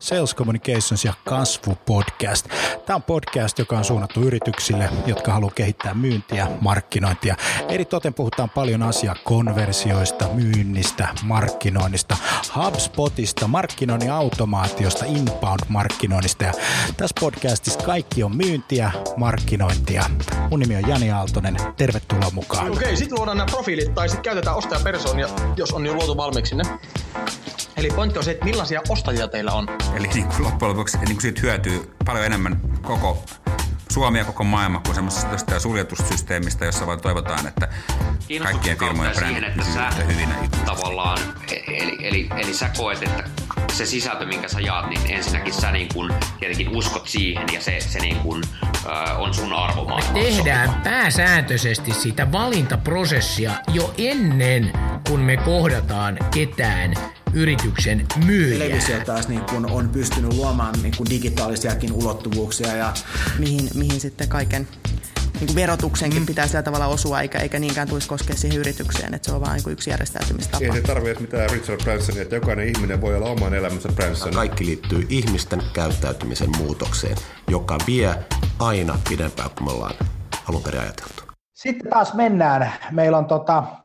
Sales Communications ja kasvu-podcast. Tämä on podcast, joka on suunnattu yrityksille, jotka haluaa kehittää myyntiä, markkinointia. Eritoten puhutaan paljon konversioista, myynnistä, markkinoinnista, HubSpotista, markkinoinnin automaatiosta, inbound-markkinoinnista. Ja tässä podcastissa kaikki on myyntiä, markkinointia. Mun nimi on Jani Aaltonen. Tervetuloa mukaan. Okei, sitten luodaan nämä profiilit tai sitten käytetään ostajapersoonia, jos on jo luotu valmiiksi ne. Eli pointti on se, että millaisia ostajia teillä on. Eli niin kuin loppujen lopuksi niin kuin siitä hyötyy paljon enemmän koko Suomi ja koko maailma kuin semmoisesta suljetussysteemistä, jossa vaan toivotaan, että kaikkien firmojen brändit pysyvät hyvinä. Tavallaan, eli sä koet, että se sisältö, minkä sä jaat, niin ensinnäkin sä niin kun tietenkin uskot siihen ja se niin kun, on sun arvomaailma. Me tehdään pääsääntöisesti sitä valintaprosessia jo ennen kuin me kohdataan ketään yrityksen myyjää. Televisio taas niin kun on pystynyt luomaan niin kun digitaalisiakin ulottuvuuksia. Ja mihin sitten kaiken niin verotuksenkin pitää sillä tavalla osua, eikä niinkään tulisi koskea siihen yritykseen, että se on vain niin yksi järjestäytymistapa. Ei se tarvitse mitään Richard Bransonia, että jokainen ihminen voi olla oman elämänsä Branson. Kaikki liittyy ihmisten käyttäytymisen muutokseen, joka vie aina pidempään kuin me ollaan alun perin ajateltu. Sitten taas mennään. Meillä on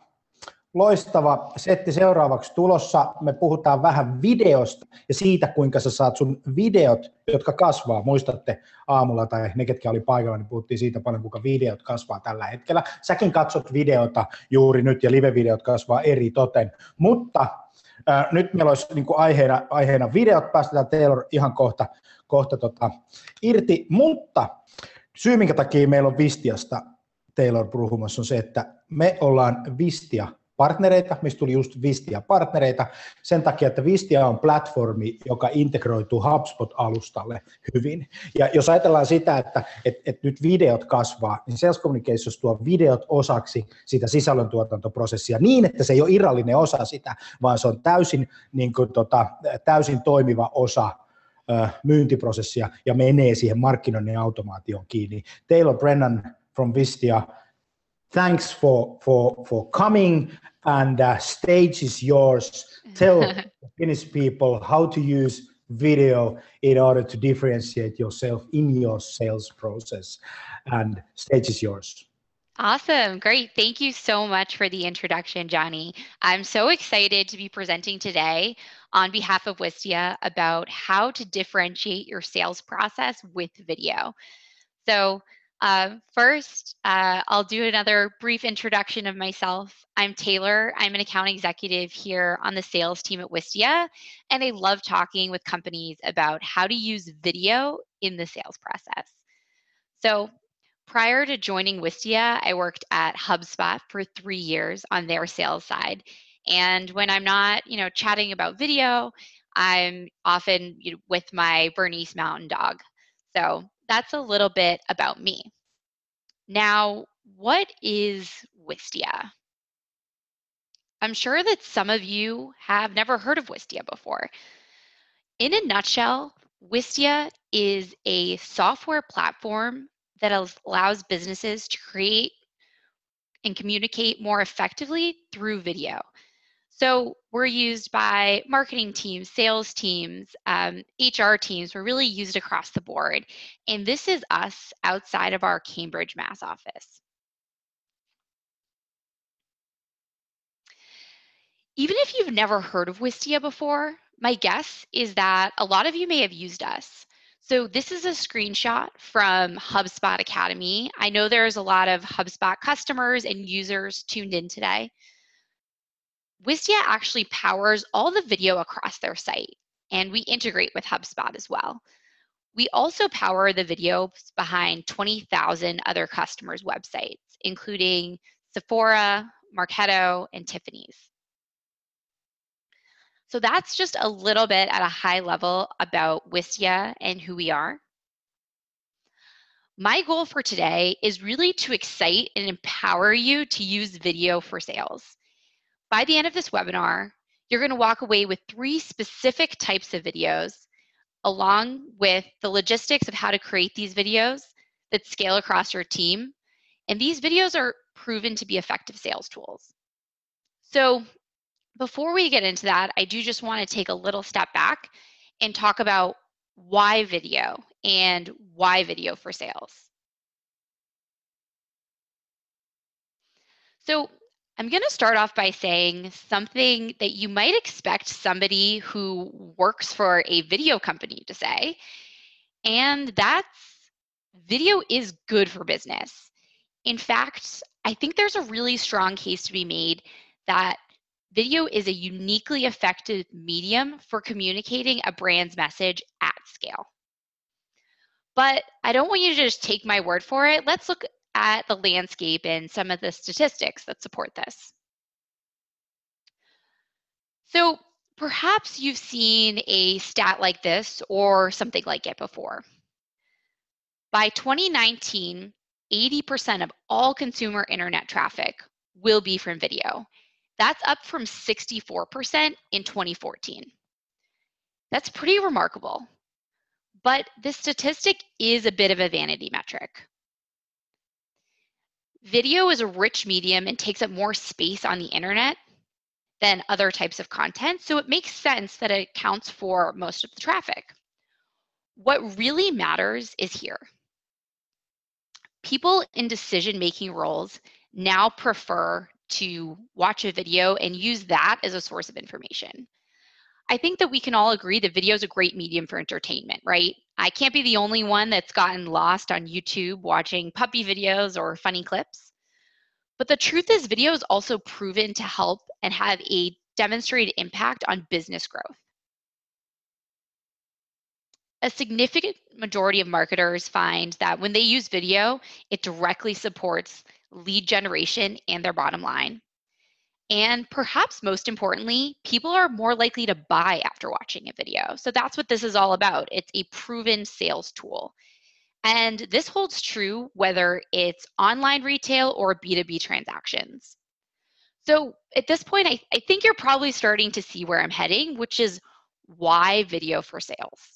loistava setti seuraavaksi tulossa. Me puhutaan vähän videosta ja siitä, kuinka sä saat sun videot, jotka kasvaa. Muistatte aamulla tai ne, ketkä oli paikalla, niin puhuttiin siitä paljon, kuinka videot kasvaa tällä hetkellä. Säkin katsot videota juuri nyt ja live-videot kasvaa eri toten. Mutta nyt meillä olisi niin kuin aiheena videot. Päästetään Taylor ihan kohta irti. Mutta syy, minkä takia meillä on Vistiasta Taylor puhumassa, on se, että me ollaan Vistia partnereita, mistä tuli just Vistia-partnereita, sen takia, että Vistia on platformi, joka integroituu HubSpot-alustalle hyvin. Ja jos ajatellaan sitä, että nyt videot kasvaa, niin Sales Communications tuo videot osaksi sitä sisällöntuotantoprosessia niin, että se ei ole irrallinen osa sitä, vaan se on täysin toimiva osa myyntiprosessia ja menee siihen markkinoinnin automaatioon kiinni. Taylor Brennan from Vistia, thanks for coming, and stage is yours. Tell Finnish people how to use video in order to differentiate yourself in your sales process, and stage is yours. Awesome. Great. Thank you so much for the introduction, Johnny. I'm so excited to be presenting today on behalf of Wistia about how to differentiate your sales process with video. So first, I'll do another brief introduction of myself. I'm Taylor. I'm an account executive here on the sales team at Wistia, and I love talking with companies about how to use video in the sales process. So prior to joining Wistia, I worked at HubSpot for 3 years on their sales side. And when I'm not, chatting about video, I'm often with my Bernese Mountain Dog. So that's a little bit about me. Now, what is Wistia? I'm sure that some of you have never heard of Wistia before. In a nutshell, Wistia is a software platform that allows businesses to create and communicate more effectively through video. So we're used by marketing teams, sales teams, HR teams. We're really used across the board. And this is us outside of our Cambridge, Mass office. Even if you've never heard of Wistia before, my guess is that a lot of you may have used us. So this is a screenshot from HubSpot Academy. I know there's a lot of HubSpot customers and users tuned in today. Wistia actually powers all the video across their site, and we integrate with HubSpot as well. We also power the videos behind 20,000 other customers' websites, including Sephora, Marketo, and Tiffany's. So that's just a little bit at a high level about Wistia and who we are. My goal for today is really to excite and empower you to use video for sales. By the end of this webinar, you're going to walk away with 3 specific types of videos, along with the logistics of how to create these videos that scale across your team. And these videos are proven to be effective sales tools. So before we get into that, I do just want to take a little step back and talk about why video and why video for sales. So I'm going to start off by saying something that you might expect somebody who works for a video company to say, and that's video is good for business. In fact, I think there's a really strong case to be made that video is a uniquely effective medium for communicating a brand's message at scale. But I don't want you to just take my word for it. Let's look at the landscape and some of the statistics that support this. So perhaps you've seen a stat like this or something like it before. By 2019, 80% of all consumer internet traffic will be from video. That's up from 64% in 2014. That's pretty remarkable. But this statistic is a bit of a vanity metric. Video is a rich medium and takes up more space on the internet than other types of content, so it makes sense that it accounts for most of the traffic. What really matters is here. People in decision-making roles now prefer to watch a video and use that as a source of information. I think that we can all agree that video is a great medium for entertainment, right? I can't be the only one that's gotten lost on YouTube watching puppy videos or funny clips. But the truth is, video is also proven to help and have a demonstrated impact on business growth. A significant majority of marketers find that when they use video, it directly supports lead generation and their bottom line. And perhaps most importantly, people are more likely to buy after watching a video. So that's what this is all about. It's a proven sales tool. And this holds true whether it's online retail or B2B transactions. So at this point, I think you're probably starting to see where I'm heading, which is why video for sales.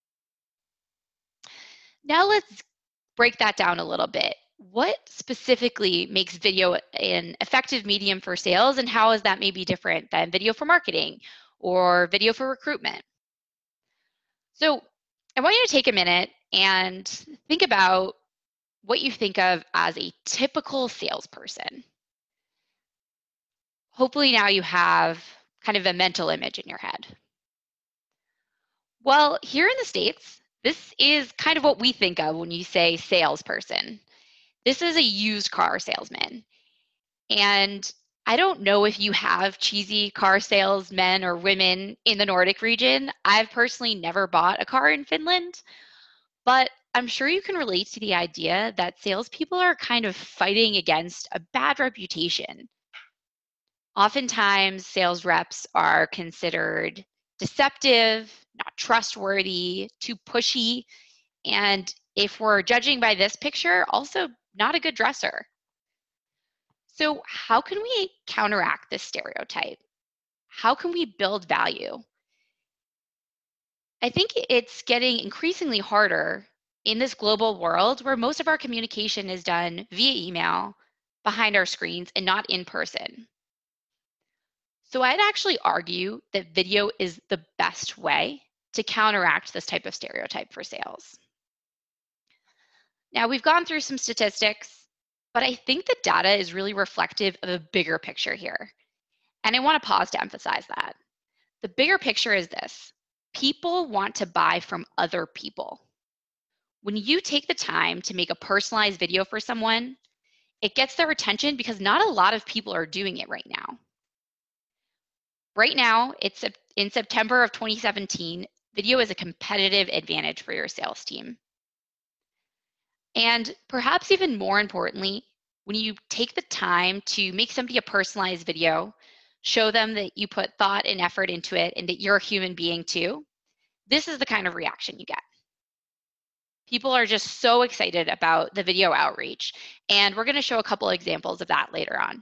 Now let's break that down a little bit. What specifically makes video an effective medium for sales, and how is that maybe different than video for marketing or video for recruitment? So I want you to take a minute and think about what you think of as a typical salesperson. Hopefully now you have kind of a mental image in your head. Well, here in the States, this is kind of what we think of when you say salesperson. This is a used car salesman. And I don't know if you have cheesy car salesmen or women in the Nordic region. I've personally never bought a car in Finland, but I'm sure you can relate to the idea that salespeople are kind of fighting against a bad reputation. Oftentimes, sales reps are considered deceptive, not trustworthy, too pushy, and if we're judging by this picture, also not a good dresser. So how can we counteract this stereotype? How can we build value? I think it's getting increasingly harder in this global world where most of our communication is done via email, behind our screens, and not in person. So I'd actually argue that video is the best way to counteract this type of stereotype for sales. Now, we've gone through some statistics, but I think the data is really reflective of a bigger picture here. And I want to pause to emphasize that. The bigger picture is this: people want to buy from other people. When you take the time to make a personalized video for someone, it gets their attention because not a lot of people are doing it right now. Right now, it's in September of 2017, video is a competitive advantage for your sales team. And perhaps even more importantly, when you take the time to make somebody a personalized video, show them that you put thought and effort into it and that you're a human being too, this is the kind of reaction you get. People are just so excited about the video outreach, and we're going to show a couple examples of that later on.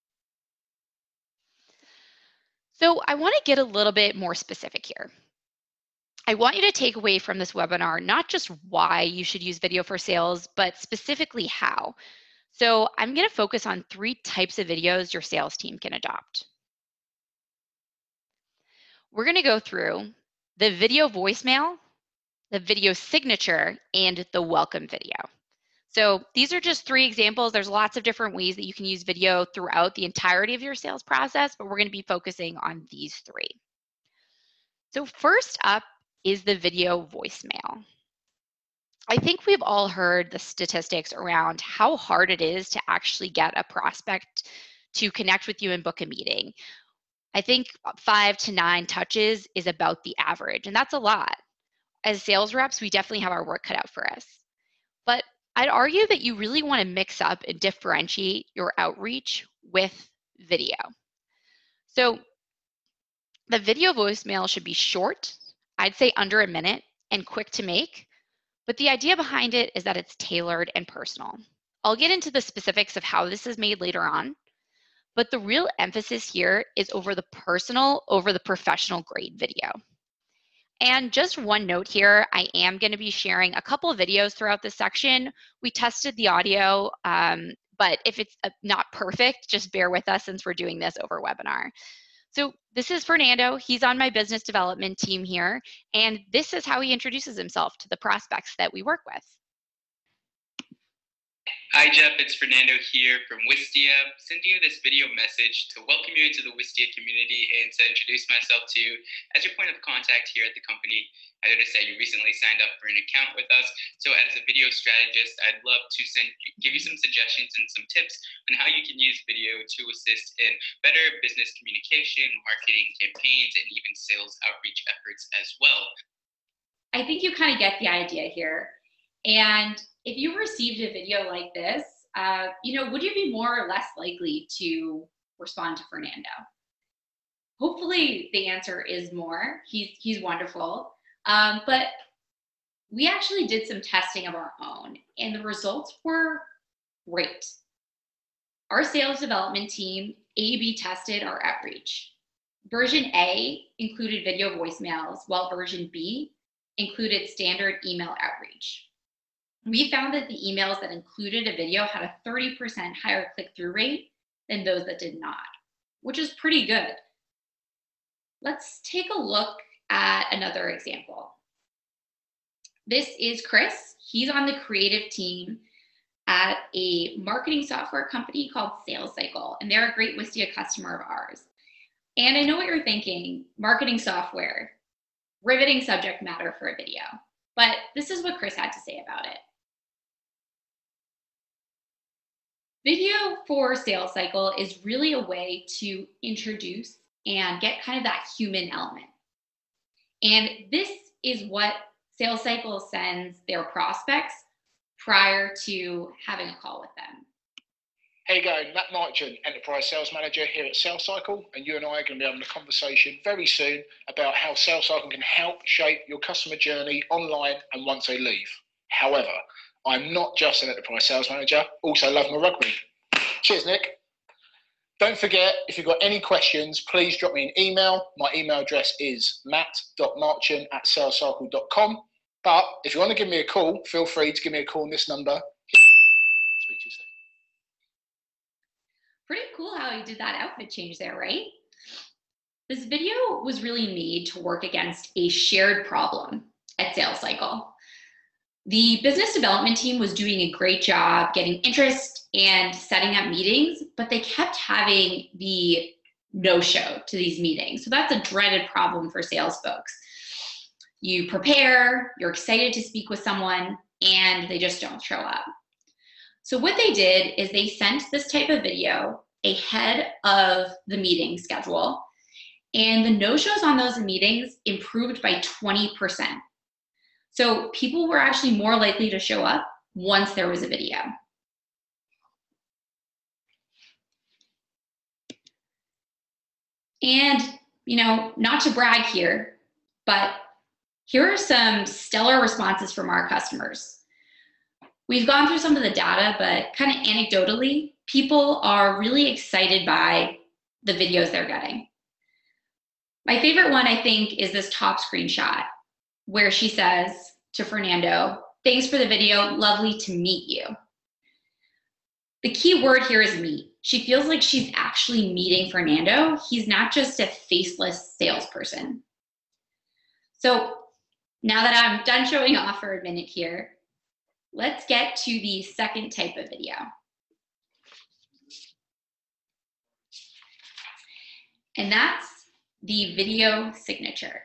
So I want to get a little bit more specific here. I want you to take away from this webinar not just why you should use video for sales, but specifically how. So I'm going to focus on 3 types of videos your sales team can adopt. We're going to go through the video voicemail, the video signature, and the welcome video. So these are just 3 examples. There's lots of different ways that you can use video throughout the entirety of your sales process, but we're going to be focusing on these 3. So first up is the video voicemail. I think we've all heard the statistics around how hard it is to actually get a prospect to connect with you and book a meeting. I think 5 to 9 touches is about the average, and that's a lot. As sales reps, we definitely have our work cut out for us. But I'd argue that you really want to mix up and differentiate your outreach with video. So the video voicemail should be short, I'd say under a minute, and quick to make. But the idea behind it is that it's tailored and personal. I'll get into the specifics of how this is made later on, but the real emphasis here is over the personal, over the professional grade video. And just one note here, I am going to be sharing a couple of videos throughout this section. We tested the audio, but if it's not perfect, just bear with us since we're doing this over webinar. So this is Fernando. He's on my business development team here, and this is how he introduces himself to the prospects that we work with. Hi Jeff, it's Fernando here from Wistia, sending you this video message to welcome you into the Wistia community and to introduce myself to you as your point of contact here at the company. I noticed that you recently signed up for an account with us, so as a video strategist, I'd love to give you some suggestions and some tips on how you can use video to assist in better business communication, marketing campaigns, and even sales outreach efforts as well. I think you kind of get the idea here. And if you received a video like this, would you be more or less likely to respond to Fernando? Hopefully the answer is more. He's wonderful. But we actually did some testing of our own, and the results were great. Our sales development team A/B tested our outreach. Version A included video voicemails, while version B included standard email outreach. We found that the emails that included a video had a 30% higher click-through rate than those that did not, which is pretty good. Let's take a look at another example. This is Chris. He's on the creative team at a marketing software company called Sales Cycle, and they're a great Wistia customer of ours. And I know what you're thinking, marketing software, riveting subject matter for a video, but this is what Chris had to say about it. Video for Sales Cycle is really a way to introduce and get kind of that human element. And this is what Sales Cycle sends their prospects prior to having a call with them. Hey guys, Matt Marchant, Enterprise Sales Manager here at Sales Cycle, and you and I are going to be having a conversation very soon about how Sales Cycle can help shape your customer journey online and once they leave. However, I'm not just an Enterprise Sales Manager, also love my rugby. Cheers, Nick. Don't forget, if you've got any questions, please drop me an email. My email address is matt.marchant@salescycle.com. But if you want to give me a call, feel free to give me a call on this number. Speak to you soon. Pretty cool how he did that outfit change there, right? This video was really made to work against a shared problem at Sales Cycle. The business development team was doing a great job getting interest and setting up meetings, but they kept having the no-show to these meetings. So that's a dreaded problem for sales folks. You prepare, you're excited to speak with someone, and they just don't show up. So what they did is they sent this type of video ahead of the meeting schedule, and the no-shows on those meetings improved by 20%. So people were actually more likely to show up once there was a video. And, not to brag here, but here are some stellar responses from our customers. We've gone through some of the data, but kind of anecdotally, people are really excited by the videos they're getting. My favorite one, I think, is this top screenshot where she says to Fernando, "Thanks for the video, lovely to meet you." The key word here is meet. She feels like she's actually meeting Fernando. He's not just a faceless salesperson. So now that I'm done showing off for a minute here, let's get to the second type of video. And that's the video signature.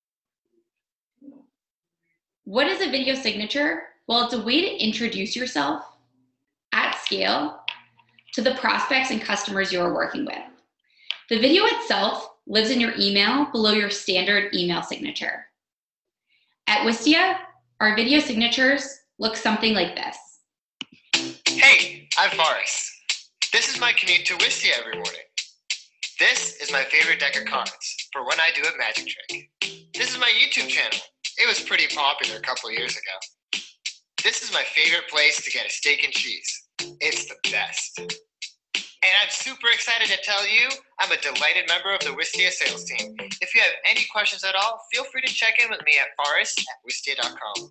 What is a video signature? Well, it's a way to introduce yourself at scale to the prospects and customers you're working with. The video itself lives in your email below your standard email signature. At Wistia, our video signatures look something like this. Hey, I'm Forrest. This is my commute to Wistia every morning. This is my favorite deck of cards for when I do a magic trick. This is my YouTube channel. It was pretty popular a couple years ago. This is my favorite place to get a steak and cheese. It's the best. And I'm super excited to tell you I'm a delighted member of the Wistia sales team. If you have any questions at all, feel free to check in with me at forrest@wistia.com.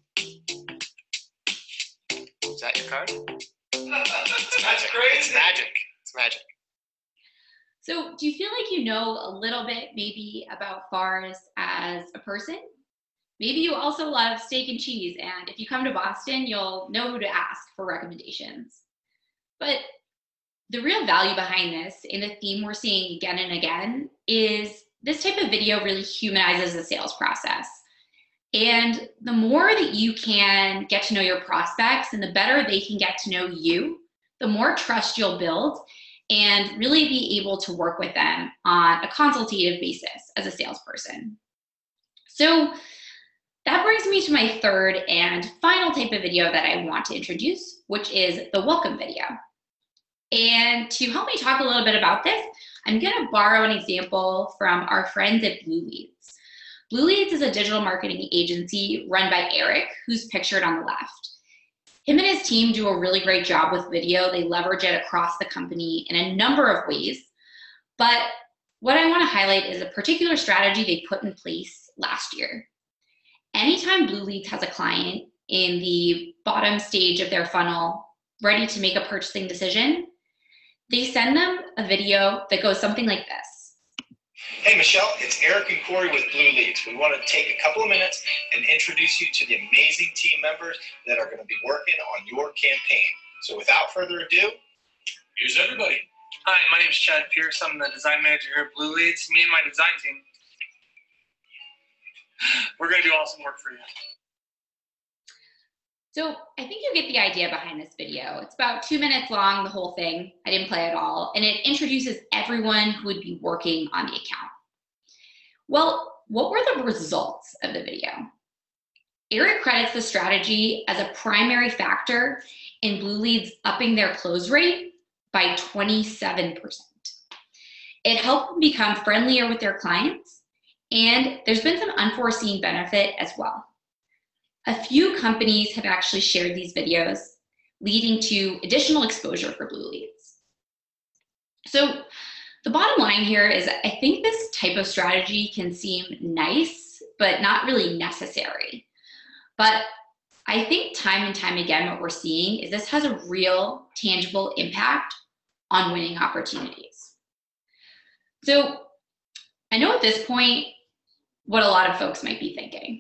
Is that your card? It's magic. It's magic. It's magic. So do you feel like you know a little bit maybe about Forrest as a person? Maybe you also love steak and cheese, and if you come to Boston, you'll know who to ask for recommendations. But the real value behind this, and the theme we're seeing again and again, is this type of video really humanizes the sales process. And the more that you can get to know your prospects and the better they can get to know you, the more trust you'll build and really be able to work with them on a consultative basis as a salesperson. So that brings me to my third and final type of video that I want to introduce, which is the welcome video. And to help me talk a little bit about this, I'm going to borrow an example from our friends at Blue Leads. Blue Leads is a digital marketing agency run by Eric, who's pictured on the left. Him and his team do a really great job with video. They leverage it across the company in a number of ways. But what I want to highlight is a particular strategy they put in place last year. Anytime Blue Leads has a client in the bottom stage of their funnel ready to make a purchasing decision, they send them a video that goes something like this. Hey Michelle, it's Eric and Corey with Blue Leads. We want to take a couple of minutes and introduce you to the amazing team members that are going to be working on your campaign. So without further ado, here's everybody. Hi, my name is Chad Pierce. I'm the design manager here at Blue Leads. Me and my design team, we're going to do awesome work for you. So I think you get the idea behind this video. It's about 2 minutes long, the whole thing. I didn't play it all. And it introduces everyone who would be working on the account. Well, what were the results of the video? Eric credits the strategy as a primary factor in Blue Leads upping their close rate by 27%. It helped them become friendlier with their clients, and there's been some unforeseen benefit as well. A few companies have actually shared these videos, leading to additional exposure for Blue Leads. So the bottom line here is I think this type of strategy can seem nice, but not really necessary. But I think time and time again, what we're seeing is this has a real tangible impact on winning opportunities. So I know at this point what a lot of folks might be thinking.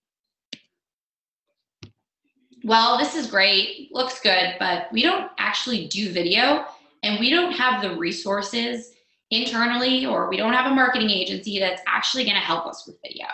Well, this is great, looks good, but we don't actually do video and we don't have the resources internally, or we don't have a marketing agency that's actually going to help us with video.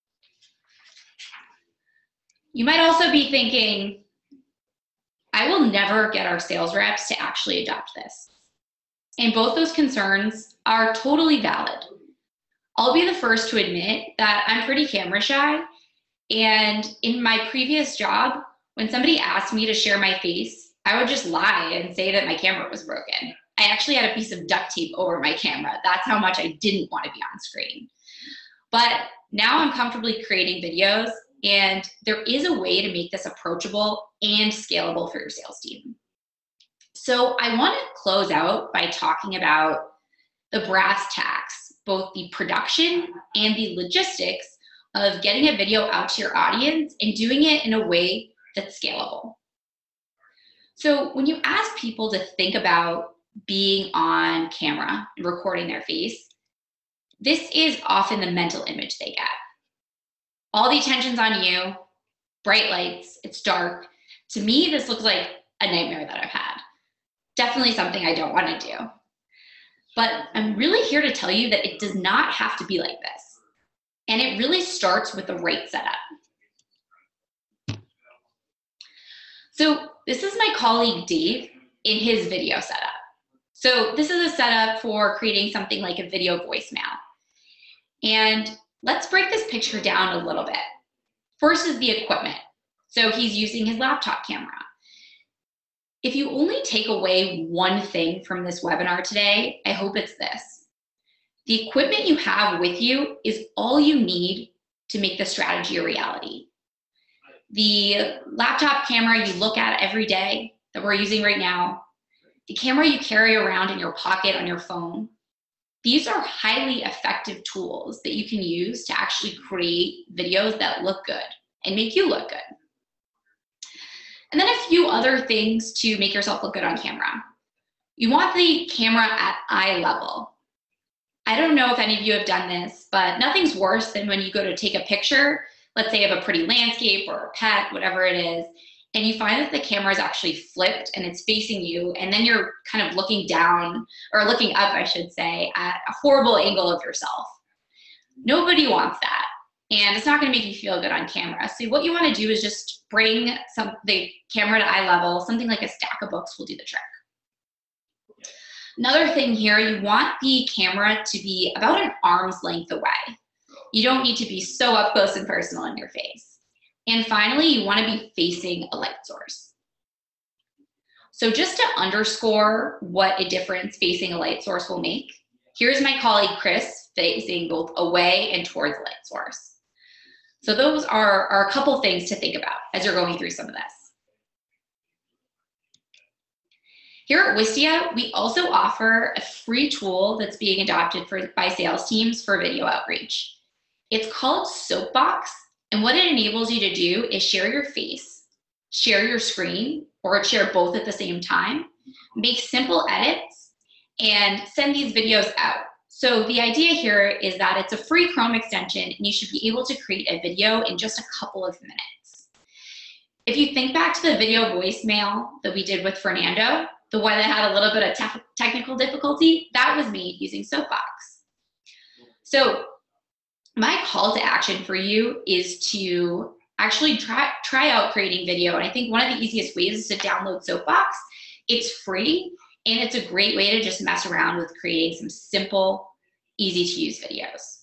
You might also be thinking, I will never get our sales reps to actually adopt this. And both those concerns are totally valid. I'll be the first to admit that I'm pretty camera shy. And in my previous job, when somebody asked me to share my face, I would just lie and say that my camera was broken. I actually had a piece of duct tape over my camera. That's how much I didn't want to be on screen. But now I'm comfortably creating videos, and there is a way to make this approachable and scalable for your sales team. So I want to close out by talking about the brass tacks, both the production and the logistics of getting a video out to your audience and doing it in a way that's scalable. So when you ask people to think about being on camera and recording their face, this is often the mental image they get. All the attention's on you, bright lights, it's dark. To me, this looks like a nightmare that I've had. Definitely something I don't want to do. But I'm really here to tell you that it does not have to be like this. And it really starts with the right setup. So this is my colleague Dave in his video setup. So this is a setup for creating something like a video voicemail. And let's break this picture down a little bit. First is the equipment. So he's using his laptop camera. If you only take away one thing from this webinar today, I hope it's this. The equipment you have with you is all you need to make the strategy a reality. The laptop camera you look at every day that we're using right now, the camera you carry around in your pocket on your phone, these are highly effective tools that you can use to actually create videos that look good and make you look good. And then a few other things to make yourself look good on camera. You want the camera at eye level. I don't know if any of you have done this, but nothing's worse than when you go to take a picture, let's say of a pretty landscape or a pet, whatever it is, and you find that the camera is actually flipped and it's facing you, and then you're kind of looking down, or looking up, I should say, at a horrible angle of yourself. Nobody wants that, and it's not gonna make you feel good on camera. So what you wanna do is just bring the camera to eye level. Something like a stack of books will do the trick. Another thing here, you want the camera to be about an arm's length away. You don't need to be so up close and personal in your face. And finally, you want to be facing a light source. So just to underscore what a difference facing a light source will make, here's my colleague Chris facing both away and towards the light source. So those are a couple things to think about as you're going through some of this. Here at Wistia, we also offer a free tool that's being adopted by sales teams for video outreach. It's called Soapbox, and what it enables you to do is share your face, share your screen, or share both at the same time, make simple edits, and send these videos out. So the idea here is that it's a free Chrome extension, and you should be able to create a video in just a couple of minutes. If you think back to the video voicemail that we did with Fernando, the one that had a little bit of technical difficulty, that was made using Soapbox. So my call to action for you is to actually try out creating video. And I think one of the easiest ways is to download Soapbox. It's free, and it's a great way to just mess around with creating some simple, easy to use videos.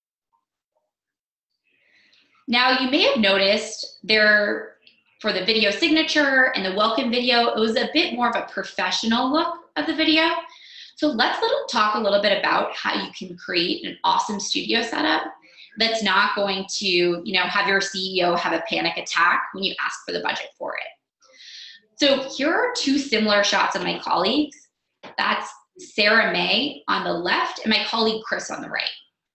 Now, you may have noticed for the video signature and the welcome video, it was a bit more of a professional look of the video. So let's talk a little bit about how you can create an awesome studio setup that's not going to, have your CEO have a panic attack when you ask for the budget for it. So here are two similar shots of my colleagues. That's Sarah May on the left and my colleague Chris on the right.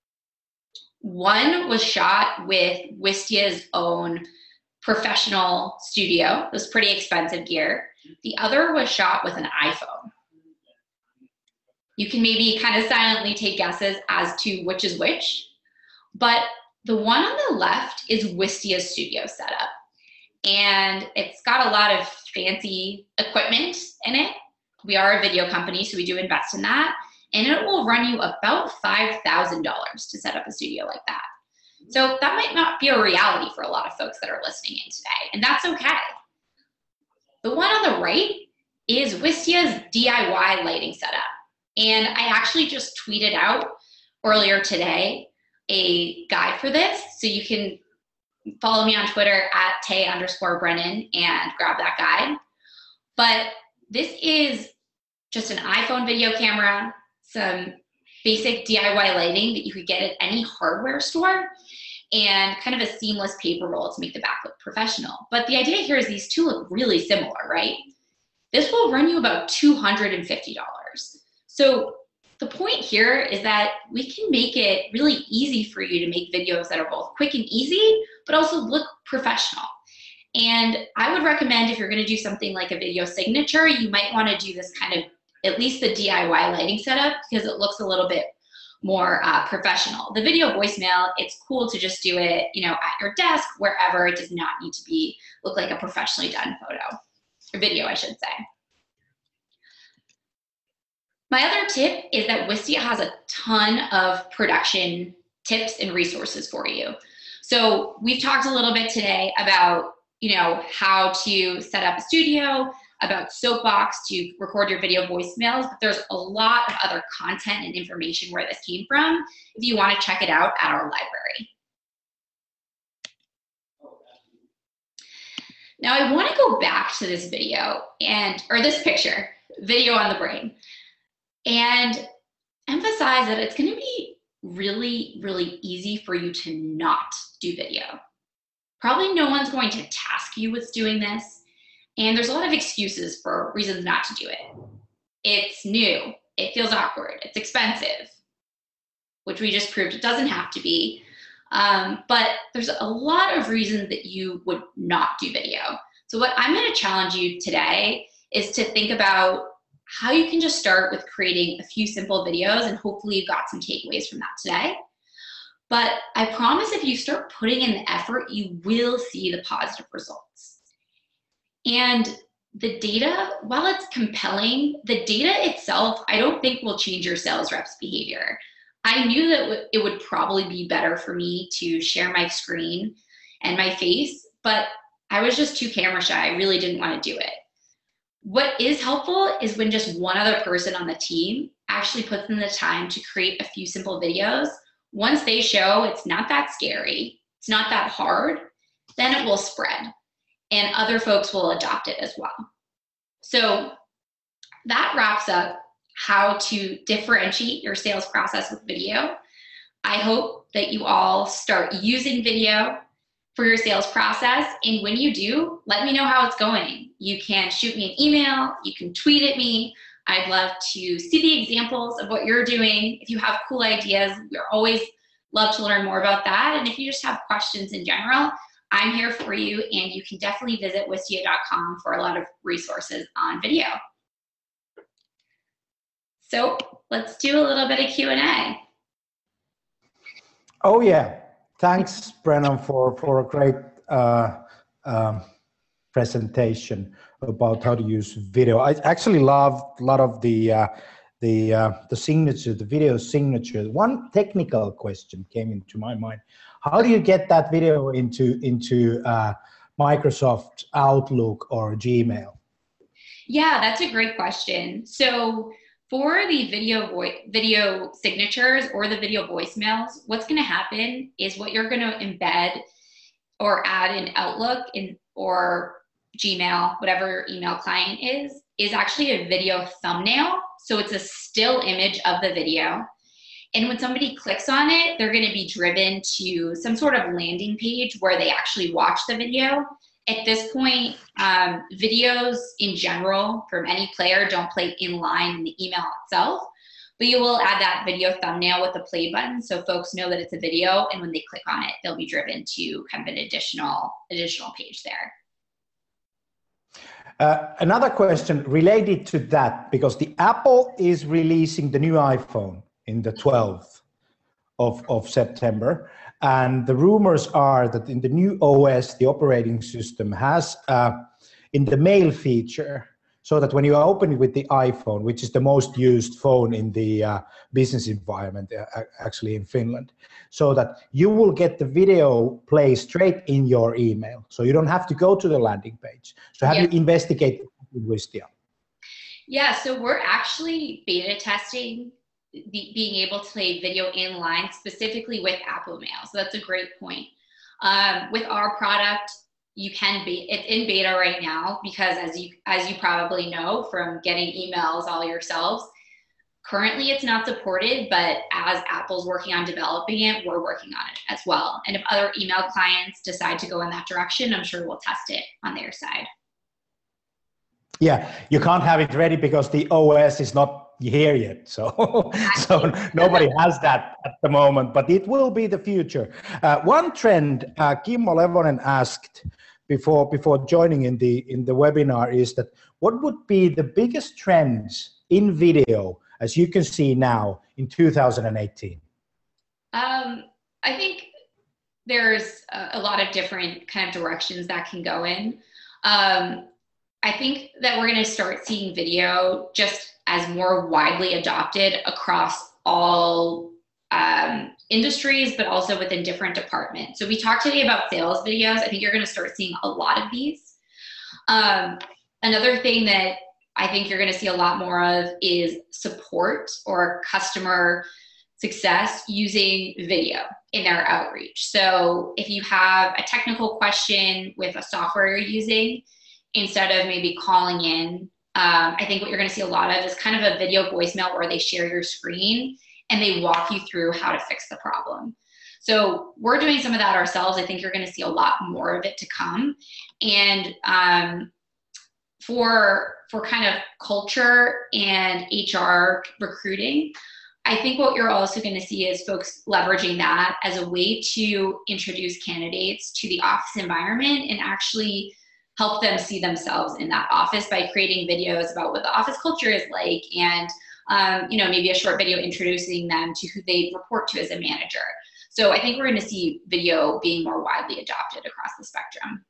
One was shot with Wistia's own professional studio. It was pretty expensive gear. The other was shot with an iPhone. You can maybe kind of silently take guesses as to which is which, but the one on the left is Wistia's studio setup. And it's got a lot of fancy equipment in it. We are a video company, so we do invest in that. And it will run you about $5,000 to set up a studio like that. So that might not be a reality for a lot of folks that are listening in today, and that's okay. The one on the right is Wistia's DIY lighting setup. And I actually just tweeted out earlier today a guide for this, so you can follow me on Twitter at Tay_Brennan and grab that guide. But this is just an iPhone video camera, some basic DIY lighting that you could get at any hardware store, and kind of a seamless paper roll to make the back look professional. But the idea here is these two look really similar, right? This will run you about $250. So the point here is that we can make it really easy for you to make videos that are both quick and easy, but also look professional. And I would recommend if you're gonna do something like a video signature, you might wanna do this kind of, at least the DIY lighting setup, because it looks a little bit more professional. The video voicemail, it's cool to just do it, at your desk, wherever. It does not need to look like a professionally done photo or video, I should say. My other tip is that Wistia has a ton of production tips and resources for you. So we've talked a little bit today about, how to set up a studio, about Soapbox to record your video voicemails, but there's a lot of other content and information where this came from if you want to check it out at our library. Now I want to go back to this video or this picture, video on the brain, and emphasize that it's going to be really, really easy for you to not do video. Probably no one's going to task you with doing this, and there's a lot of excuses for reasons not to do it. It's new, it feels awkward, it's expensive, which we just proved it doesn't have to be. But there's a lot of reasons that you would not do video. So what I'm going to challenge you today is to think about how you can just start with creating a few simple videos, and hopefully you've got some takeaways from that today. But I promise if you start putting in the effort, you will see the positive results. And the data, while it's compelling, the data itself, I don't think will change your sales rep's behavior. I knew that it would probably be better for me to share my screen and my face, but I was just too camera shy. I really didn't want to do it. What is helpful is when just one other person on the team actually puts in the time to create a few simple videos. Once they show it's not that scary, it's not that hard, then it will spread and other folks will adopt it as well. So that wraps up how to differentiate your sales process with video. I hope that you all start using video for your sales process. And when you do, let me know how it's going. You can shoot me an email, you can tweet at me. I'd love to see the examples of what you're doing. If you have cool ideas, we're always love to learn more about that. And if you just have questions in general, I'm here for you. And you can definitely visit wistia.com for a lot of resources on video. So let's do a little bit of Q&A. Oh yeah, thanks Brennan for a great presentation about how to use video. I actually love a lot of the signature, the video signature. One technical question came into my mind: how do you get that video into Microsoft Outlook or Gmail? Yeah, that's a great question. So for the video signatures or the video voicemails, what's going to happen is what you're going to embed or add in Outlook or Gmail, whatever your email client is actually a video thumbnail. So it's a still image of the video. And when somebody clicks on it, they're going to be driven to some sort of landing page where they actually watch the video. At this point, videos in general from any player don't play in line in the email itself, but you will add that video thumbnail with the play button so folks know that it's a video, and when they click on it, they'll be driven to kind of an additional page there. Another question related to that, because the Apple is releasing the new iPhone in the 12th of September. And the rumors are that in the new OS, the operating system has in the mail feature, so that when you open it with the iPhone, which is the most used phone in the business environment, actually in Finland, so that you will get the video play straight in your email. So you don't have to go to the landing page. So have you investigated Wistia? Yeah, so we're actually beta testing being able to play video inline specifically with Apple Mail. So that's a great point. With our product, you can it's in beta right now because as you probably know from getting emails all yourselves, currently it's not supported, but as Apple's working on developing it, we're working on it as well. And if other email clients decide to go in that direction, I'm sure we'll test it on their side. Yeah, you can't have it ready because the OS is not here yet, so nobody has that at the moment, but it will be the future. One trend Kimmo Levonen asked before joining in the webinar is that what would be the biggest trends in video as you can see now in 2018? I think there's a lot of different kind of directions that can go in. I think that we're going to start seeing video just as more widely adopted across all industries, but also within different departments. So we talked today about sales videos. I think you're going to start seeing a lot of these. Another thing that I think you're going to see a lot more of is support or customer success using video in their outreach. So if you have a technical question with a software you're using, instead of maybe calling in, I think what you're going to see a lot of is kind of a video voicemail where they share your screen and they walk you through how to fix the problem. So we're doing some of that ourselves. I think you're going to see a lot more of it to come. And for kind of culture and HR recruiting, I think what you're also going to see is folks leveraging that as a way to introduce candidates to the office environment and actually help them see themselves in that office by creating videos about what the office culture is like, and maybe a short video introducing them to who they report to as a manager. So I think we're going to see video being more widely adopted across the spectrum.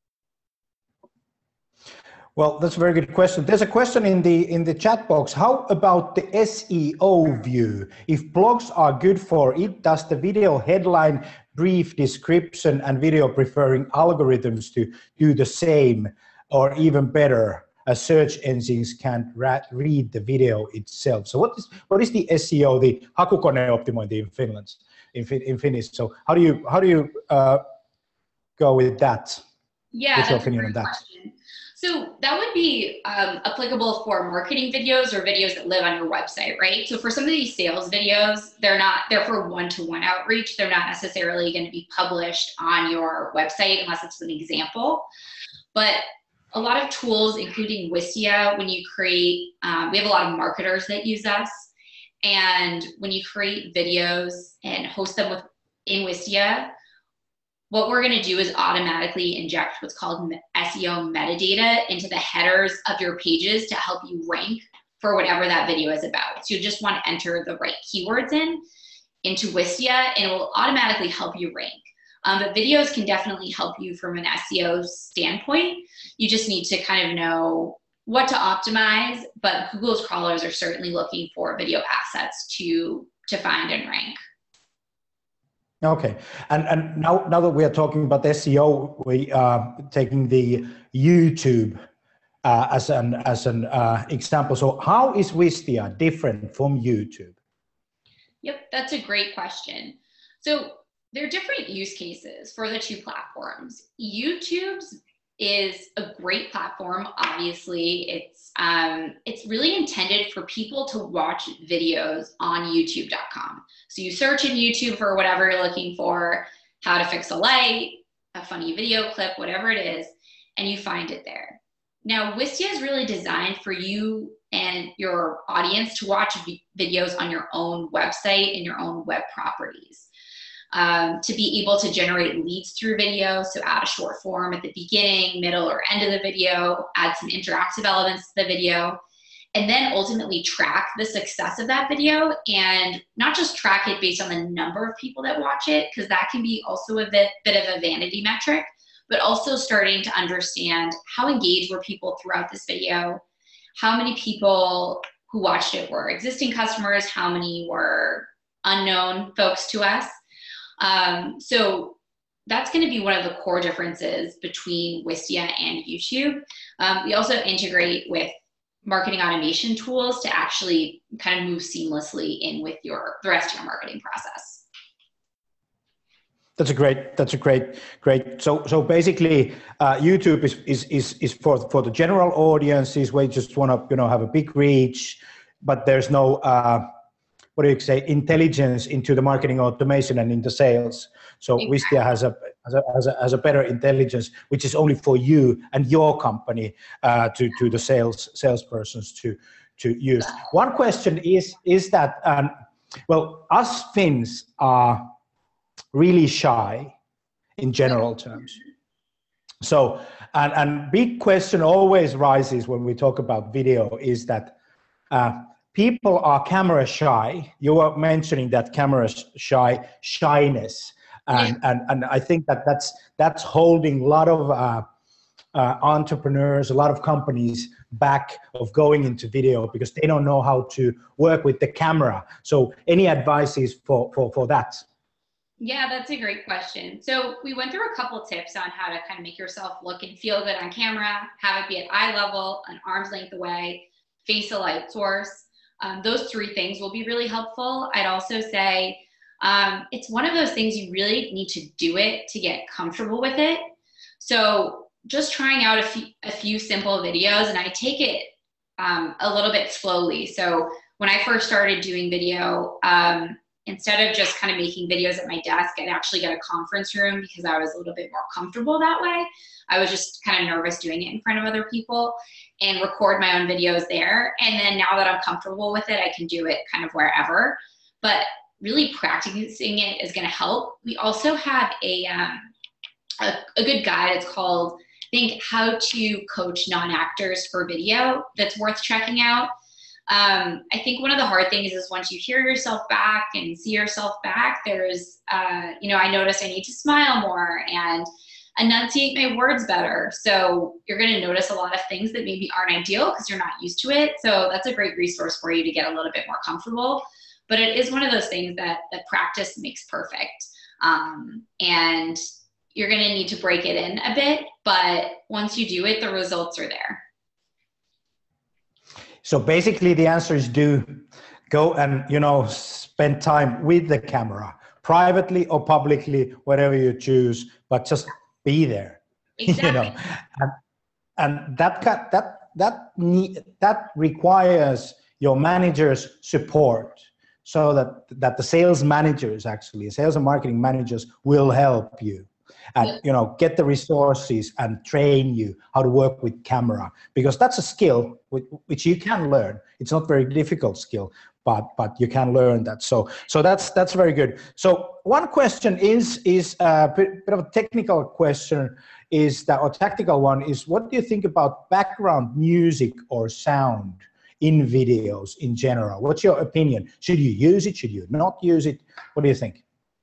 Well, that's a very good question. There's a question in the chat box. How about the SEO view? If blogs are good for it, does the video headline, brief description, and video preferring algorithms to do the same or even better, as search engines can't read the video itself? So what is the SEO, the hakukoneoptimointi in Finnish? So how do you go with that? Yeah, what's your opinion on that? Question. So that would be applicable for marketing videos or videos that live on your website, right? So for some of these sales videos, they're for one-to-one outreach. They're not necessarily going to be published on your website unless it's an example. But a lot of tools, including Wistia, when you create, we have a lot of marketers that use us. And when you create videos and host them in Wistia, what we're going to do is automatically inject what's called SEO metadata into the headers of your pages to help you rank for whatever that video is about. So you just want to enter the right keywords into Wistia, and it will automatically help you rank. But videos can definitely help you from an SEO standpoint. You just need to kind of know what to optimize, but Google's crawlers are certainly looking for video assets to find and rank. Okay, and now that we are talking about SEO, we are taking the YouTube as an example. So how is Wistia different from YouTube? Yep, that's a great question. So there are different use cases for the two platforms. YouTube's is a great platform. Obviously, it's really intended for people to watch videos on youtube.com. So you search in YouTube for whatever you're looking for, how to fix a light, a funny video clip, whatever it is, and you find it there. Now, Wistia is really designed for you and your audience to watch videos on your own website and your own web properties. To be able to generate leads through video, so add a short form at the beginning, middle, or end of the video, add some interactive elements to the video, and then ultimately track the success of that video, and not just track it based on the number of people that watch it, because that can be also a bit of a vanity metric, but also starting to understand how engaged were people throughout this video, how many people who watched it were existing customers, how many were unknown folks to us. So that's going to be one of the core differences between Wistia and YouTube. We also integrate with marketing automation tools to actually kind of move seamlessly in with the rest of your marketing process. That's a great. So basically, YouTube is for the general audiences where you just want to have a big reach, but there's no intelligence into the marketing automation and into sales. So exactly. Wistia has a better intelligence, which is only for you and your company to the salespersons to use. One question is that us Finns are really shy in general terms. So and big question always rises when we talk about video is that people are camera shy. You were mentioning that camera shyness, and I think that's holding a lot of entrepreneurs, a lot of companies back of going into video because they don't know how to work with the camera. So any advices for that? Yeah, that's a great question. So we went through a couple tips on how to kind of make yourself look and feel good on camera, have it be at eye level, an arm's length away, face a light source. Those 3 things will be really helpful. I'd also say it's one of those things you really need to do it to get comfortable with it. So just trying out a few simple videos, and I take it a little bit slowly. So when I first started doing video, instead of just kind of making videos at my desk, I'd actually get a conference room because I was a little bit more comfortable that way. I was just kind of nervous doing it in front of other people and record my own videos there. And then now that I'm comfortable with it, I can do it kind of wherever. But really practicing it is going to help. We also have a good guide. It's called, I think, How to Coach Non-Actors for Video, that's worth checking out. I think one of the hard things is once you hear yourself back and see yourself back, there's, I notice I need to smile more and enunciate my words better. So you're going to notice a lot of things that maybe aren't ideal because you're not used to it. So that's a great resource for you to get a little bit more comfortable. But it is one of those things that practice makes perfect. And you're going to need to break it in a bit. But once you do it, the results are there. So basically the answer is go and, spend time with the camera, privately or publicly, whatever you choose, but just be there. Exactly. And that requires your manager's support so that the sales and marketing managers will help you. And get the resources and train you how to work with camera, because that's a skill which you can learn. It's not very difficult skill, but you can learn that. So that's very good. So one question is a bit of a technical question, or tactical one, is what do you think about background music or sound in videos in general? What's your opinion? Should you use it? Should you not use it? What do you think?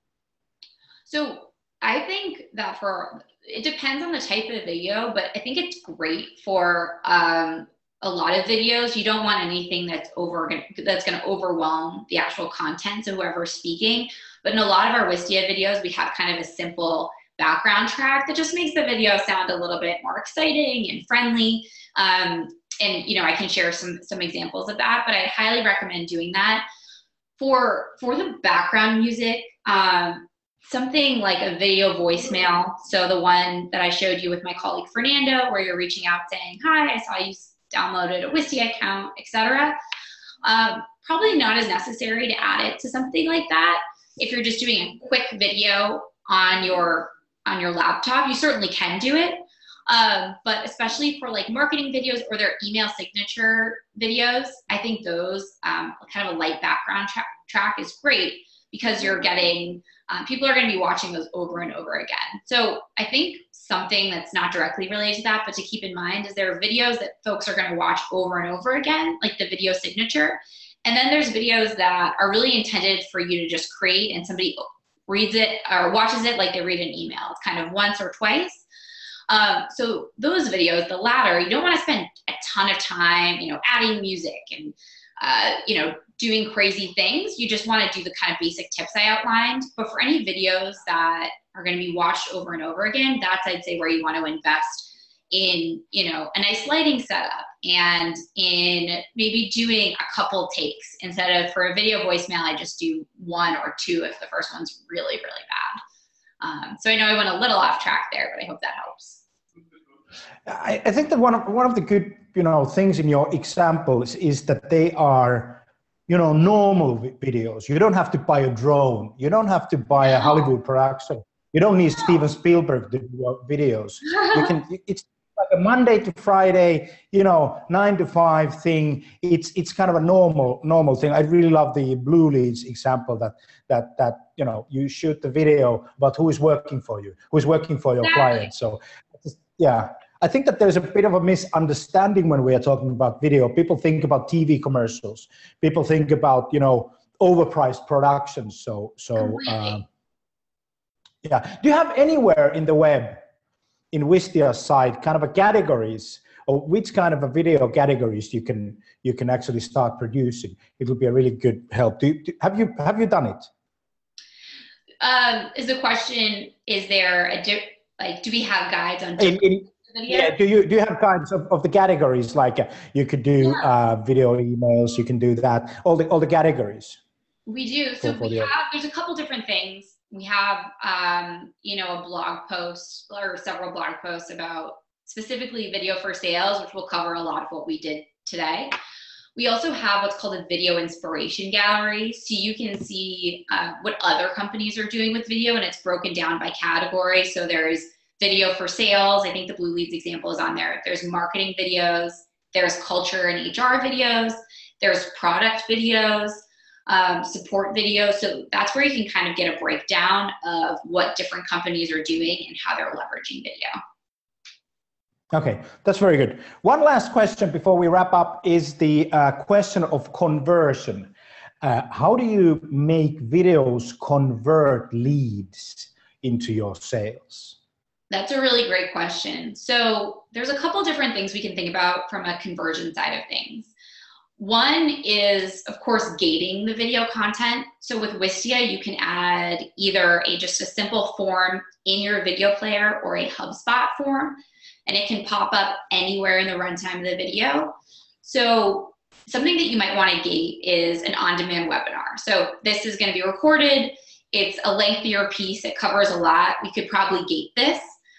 So I think that it depends on the type of video, but I think it's great for a lot of videos. You don't want anything that's going to overwhelm the actual content of whoever's speaking. But in a lot of our Wistia videos, we have kind of a simple background track that just makes the video sound a little bit more exciting and friendly. And I can share some examples of that, but I highly recommend doing that. For the background music, something like a video voicemail. So the one that I showed you with my colleague Fernando, where you're reaching out saying, "Hi, I saw you downloaded a Wistia account," etc. Probably not as necessary to add it to something like that. If you're just doing a quick video on your laptop, you certainly can do it. But especially for like marketing videos or their email signature videos, I think those kind of a light background track is great because you're getting people are going to be watching those over and over again. So I think something that's not directly related to that, but to keep in mind, is there are videos that folks are going to watch over and over again, like the video signature. And then there's videos that are really intended for you to just create and somebody reads it or watches it like they read an email. It's kind of once or twice. So those videos, the latter, you don't want to spend a ton of time, adding music and, doing crazy things. You just want to do the kind of basic tips I outlined. But for any videos that are going to be watched over and over again, that's, I'd say, where you want to invest in, a nice lighting setup and in maybe doing a couple takes instead of, for a video voicemail, I just do one or two if the first one's really, really bad. So I know I went a little off track there, but I hope that helps. I think that one of the good, things in your examples is that they are, normal videos. You don't have to buy a drone. You don't have to buy a Hollywood production. You don't need Steven Spielberg to do your videos. It's like a Monday to Friday, 9 to 5 thing. It's kind of a normal thing. I really love the Blue Leads example that you shoot the video about who is working for you, who is working for your client. So yeah, I think that there's a bit of a misunderstanding when we are talking about video. People think about TV commercials. People think about, overpriced productions. So yeah. Do you have anywhere in the web, in Wistia's site, kind of a categories, or which kind of a video categories you can actually start producing? It will be a really good help. Have you done it? Is the question, is there do we have guides on video? Yeah, do you have kinds of the categories, like you could do video emails, you can do that, all the categories? We do. So there's a couple different things. We have, a blog post or several blog posts about specifically video for sales, which will cover a lot of what we did today. We also have what's called a video inspiration gallery. So you can see what other companies are doing with video, and it's broken down by category. So there's video for sales. I think the Blue Leads example is on there. There's marketing videos. There's culture and HR videos. There's product videos, support videos. So that's where you can kind of get a breakdown of what different companies are doing and how they're leveraging video. Okay, that's very good. One last question before we wrap up is the question of conversion. How do you make videos convert leads into your sales? That's a really great question. So there's a couple different things we can think about from a conversion side of things. One is, of course, gating the video content. So with Wistia, you can add either just a simple form in your video player or a HubSpot form, and it can pop up anywhere in the runtime of the video. So something that you might want to gate is an on-demand webinar. So this is going to be recorded. It's a lengthier piece. It covers a lot. We could probably gate this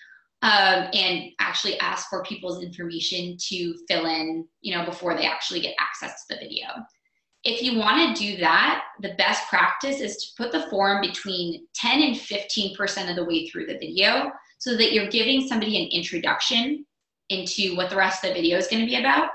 and actually ask for people's information to fill in, before they actually get access to the video. If you want to do that, the best practice is to put the form between 10 and 15% of the way through the video, so that you're giving somebody an introduction into what the rest of the video is going to be about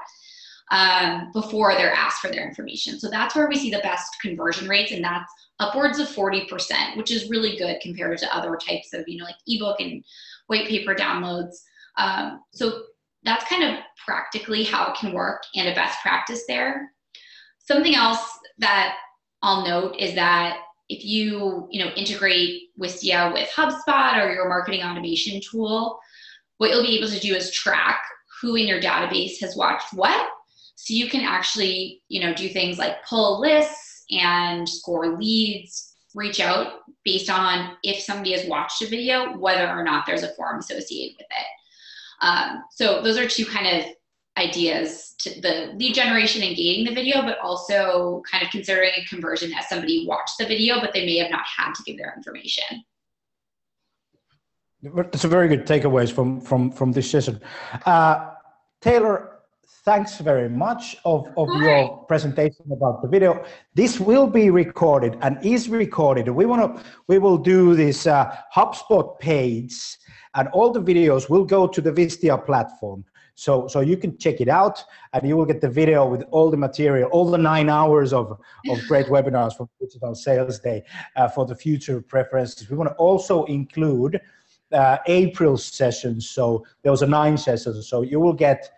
before they're asked for their information. So that's where we see the best conversion rates, and that's upwards of 40%, which is really good compared to other types of, like ebook and white paper downloads. So that's kind of practically how it can work and a best practice there. Something else that I'll note is that if you integrate Wistia with HubSpot or your marketing automation tool, what you'll be able to do is track who in your database has watched what. So you can actually, do things like pull lists and score leads, reach out based on if somebody has watched a video, whether or not there's a form associated with it. So those are two kind of ideas to the lead generation and gating the video, but also kind of considering a conversion as somebody watched the video, but they may have not had to give their information. That's a very good takeaways from this session. Taylor, thanks very much of your presentation about the video. This will be recorded and is recorded. We will do this HubSpot page, and all the videos will go to the Wistia platform. So you can check it out, and you will get the video with all the material, all the 9 hours of great webinars from Digital Sales Day for the future preferences. We want to also include April's sessions. So there was 9 sessions. So you will get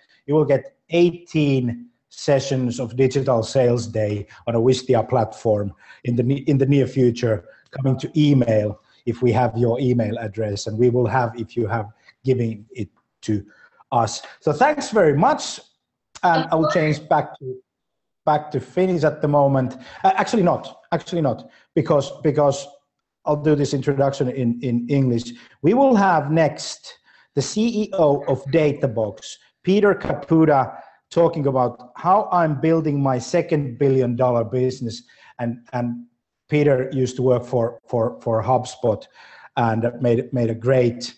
18 sessions of Digital Sales Day on a Wistia platform in the near future, coming to email if we have your email address, and we will have if you have given it to us. So thanks very much, and I will change back to Finnish at the moment. Actually not, because I'll do this introduction in English. We will have next the CEO of Databox, Peter Caputa, talking about how I'm building my $2 billion business. And Peter used to work for HubSpot and made a great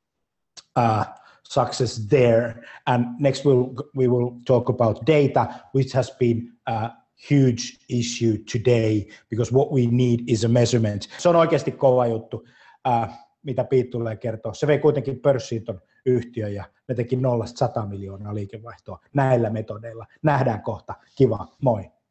success there. And next we will talk about data, which has been a huge issue today, because what we need is a measurement. Se on oikeasti kova juttu, mitä Pete tulee kertoa. Se vei kuitenkin pörssiin ton yhtiön ja ne teki 0-100 miljoonaa liikevaihtoa näillä metodeilla. Nähdään kohta. Kiva, moi.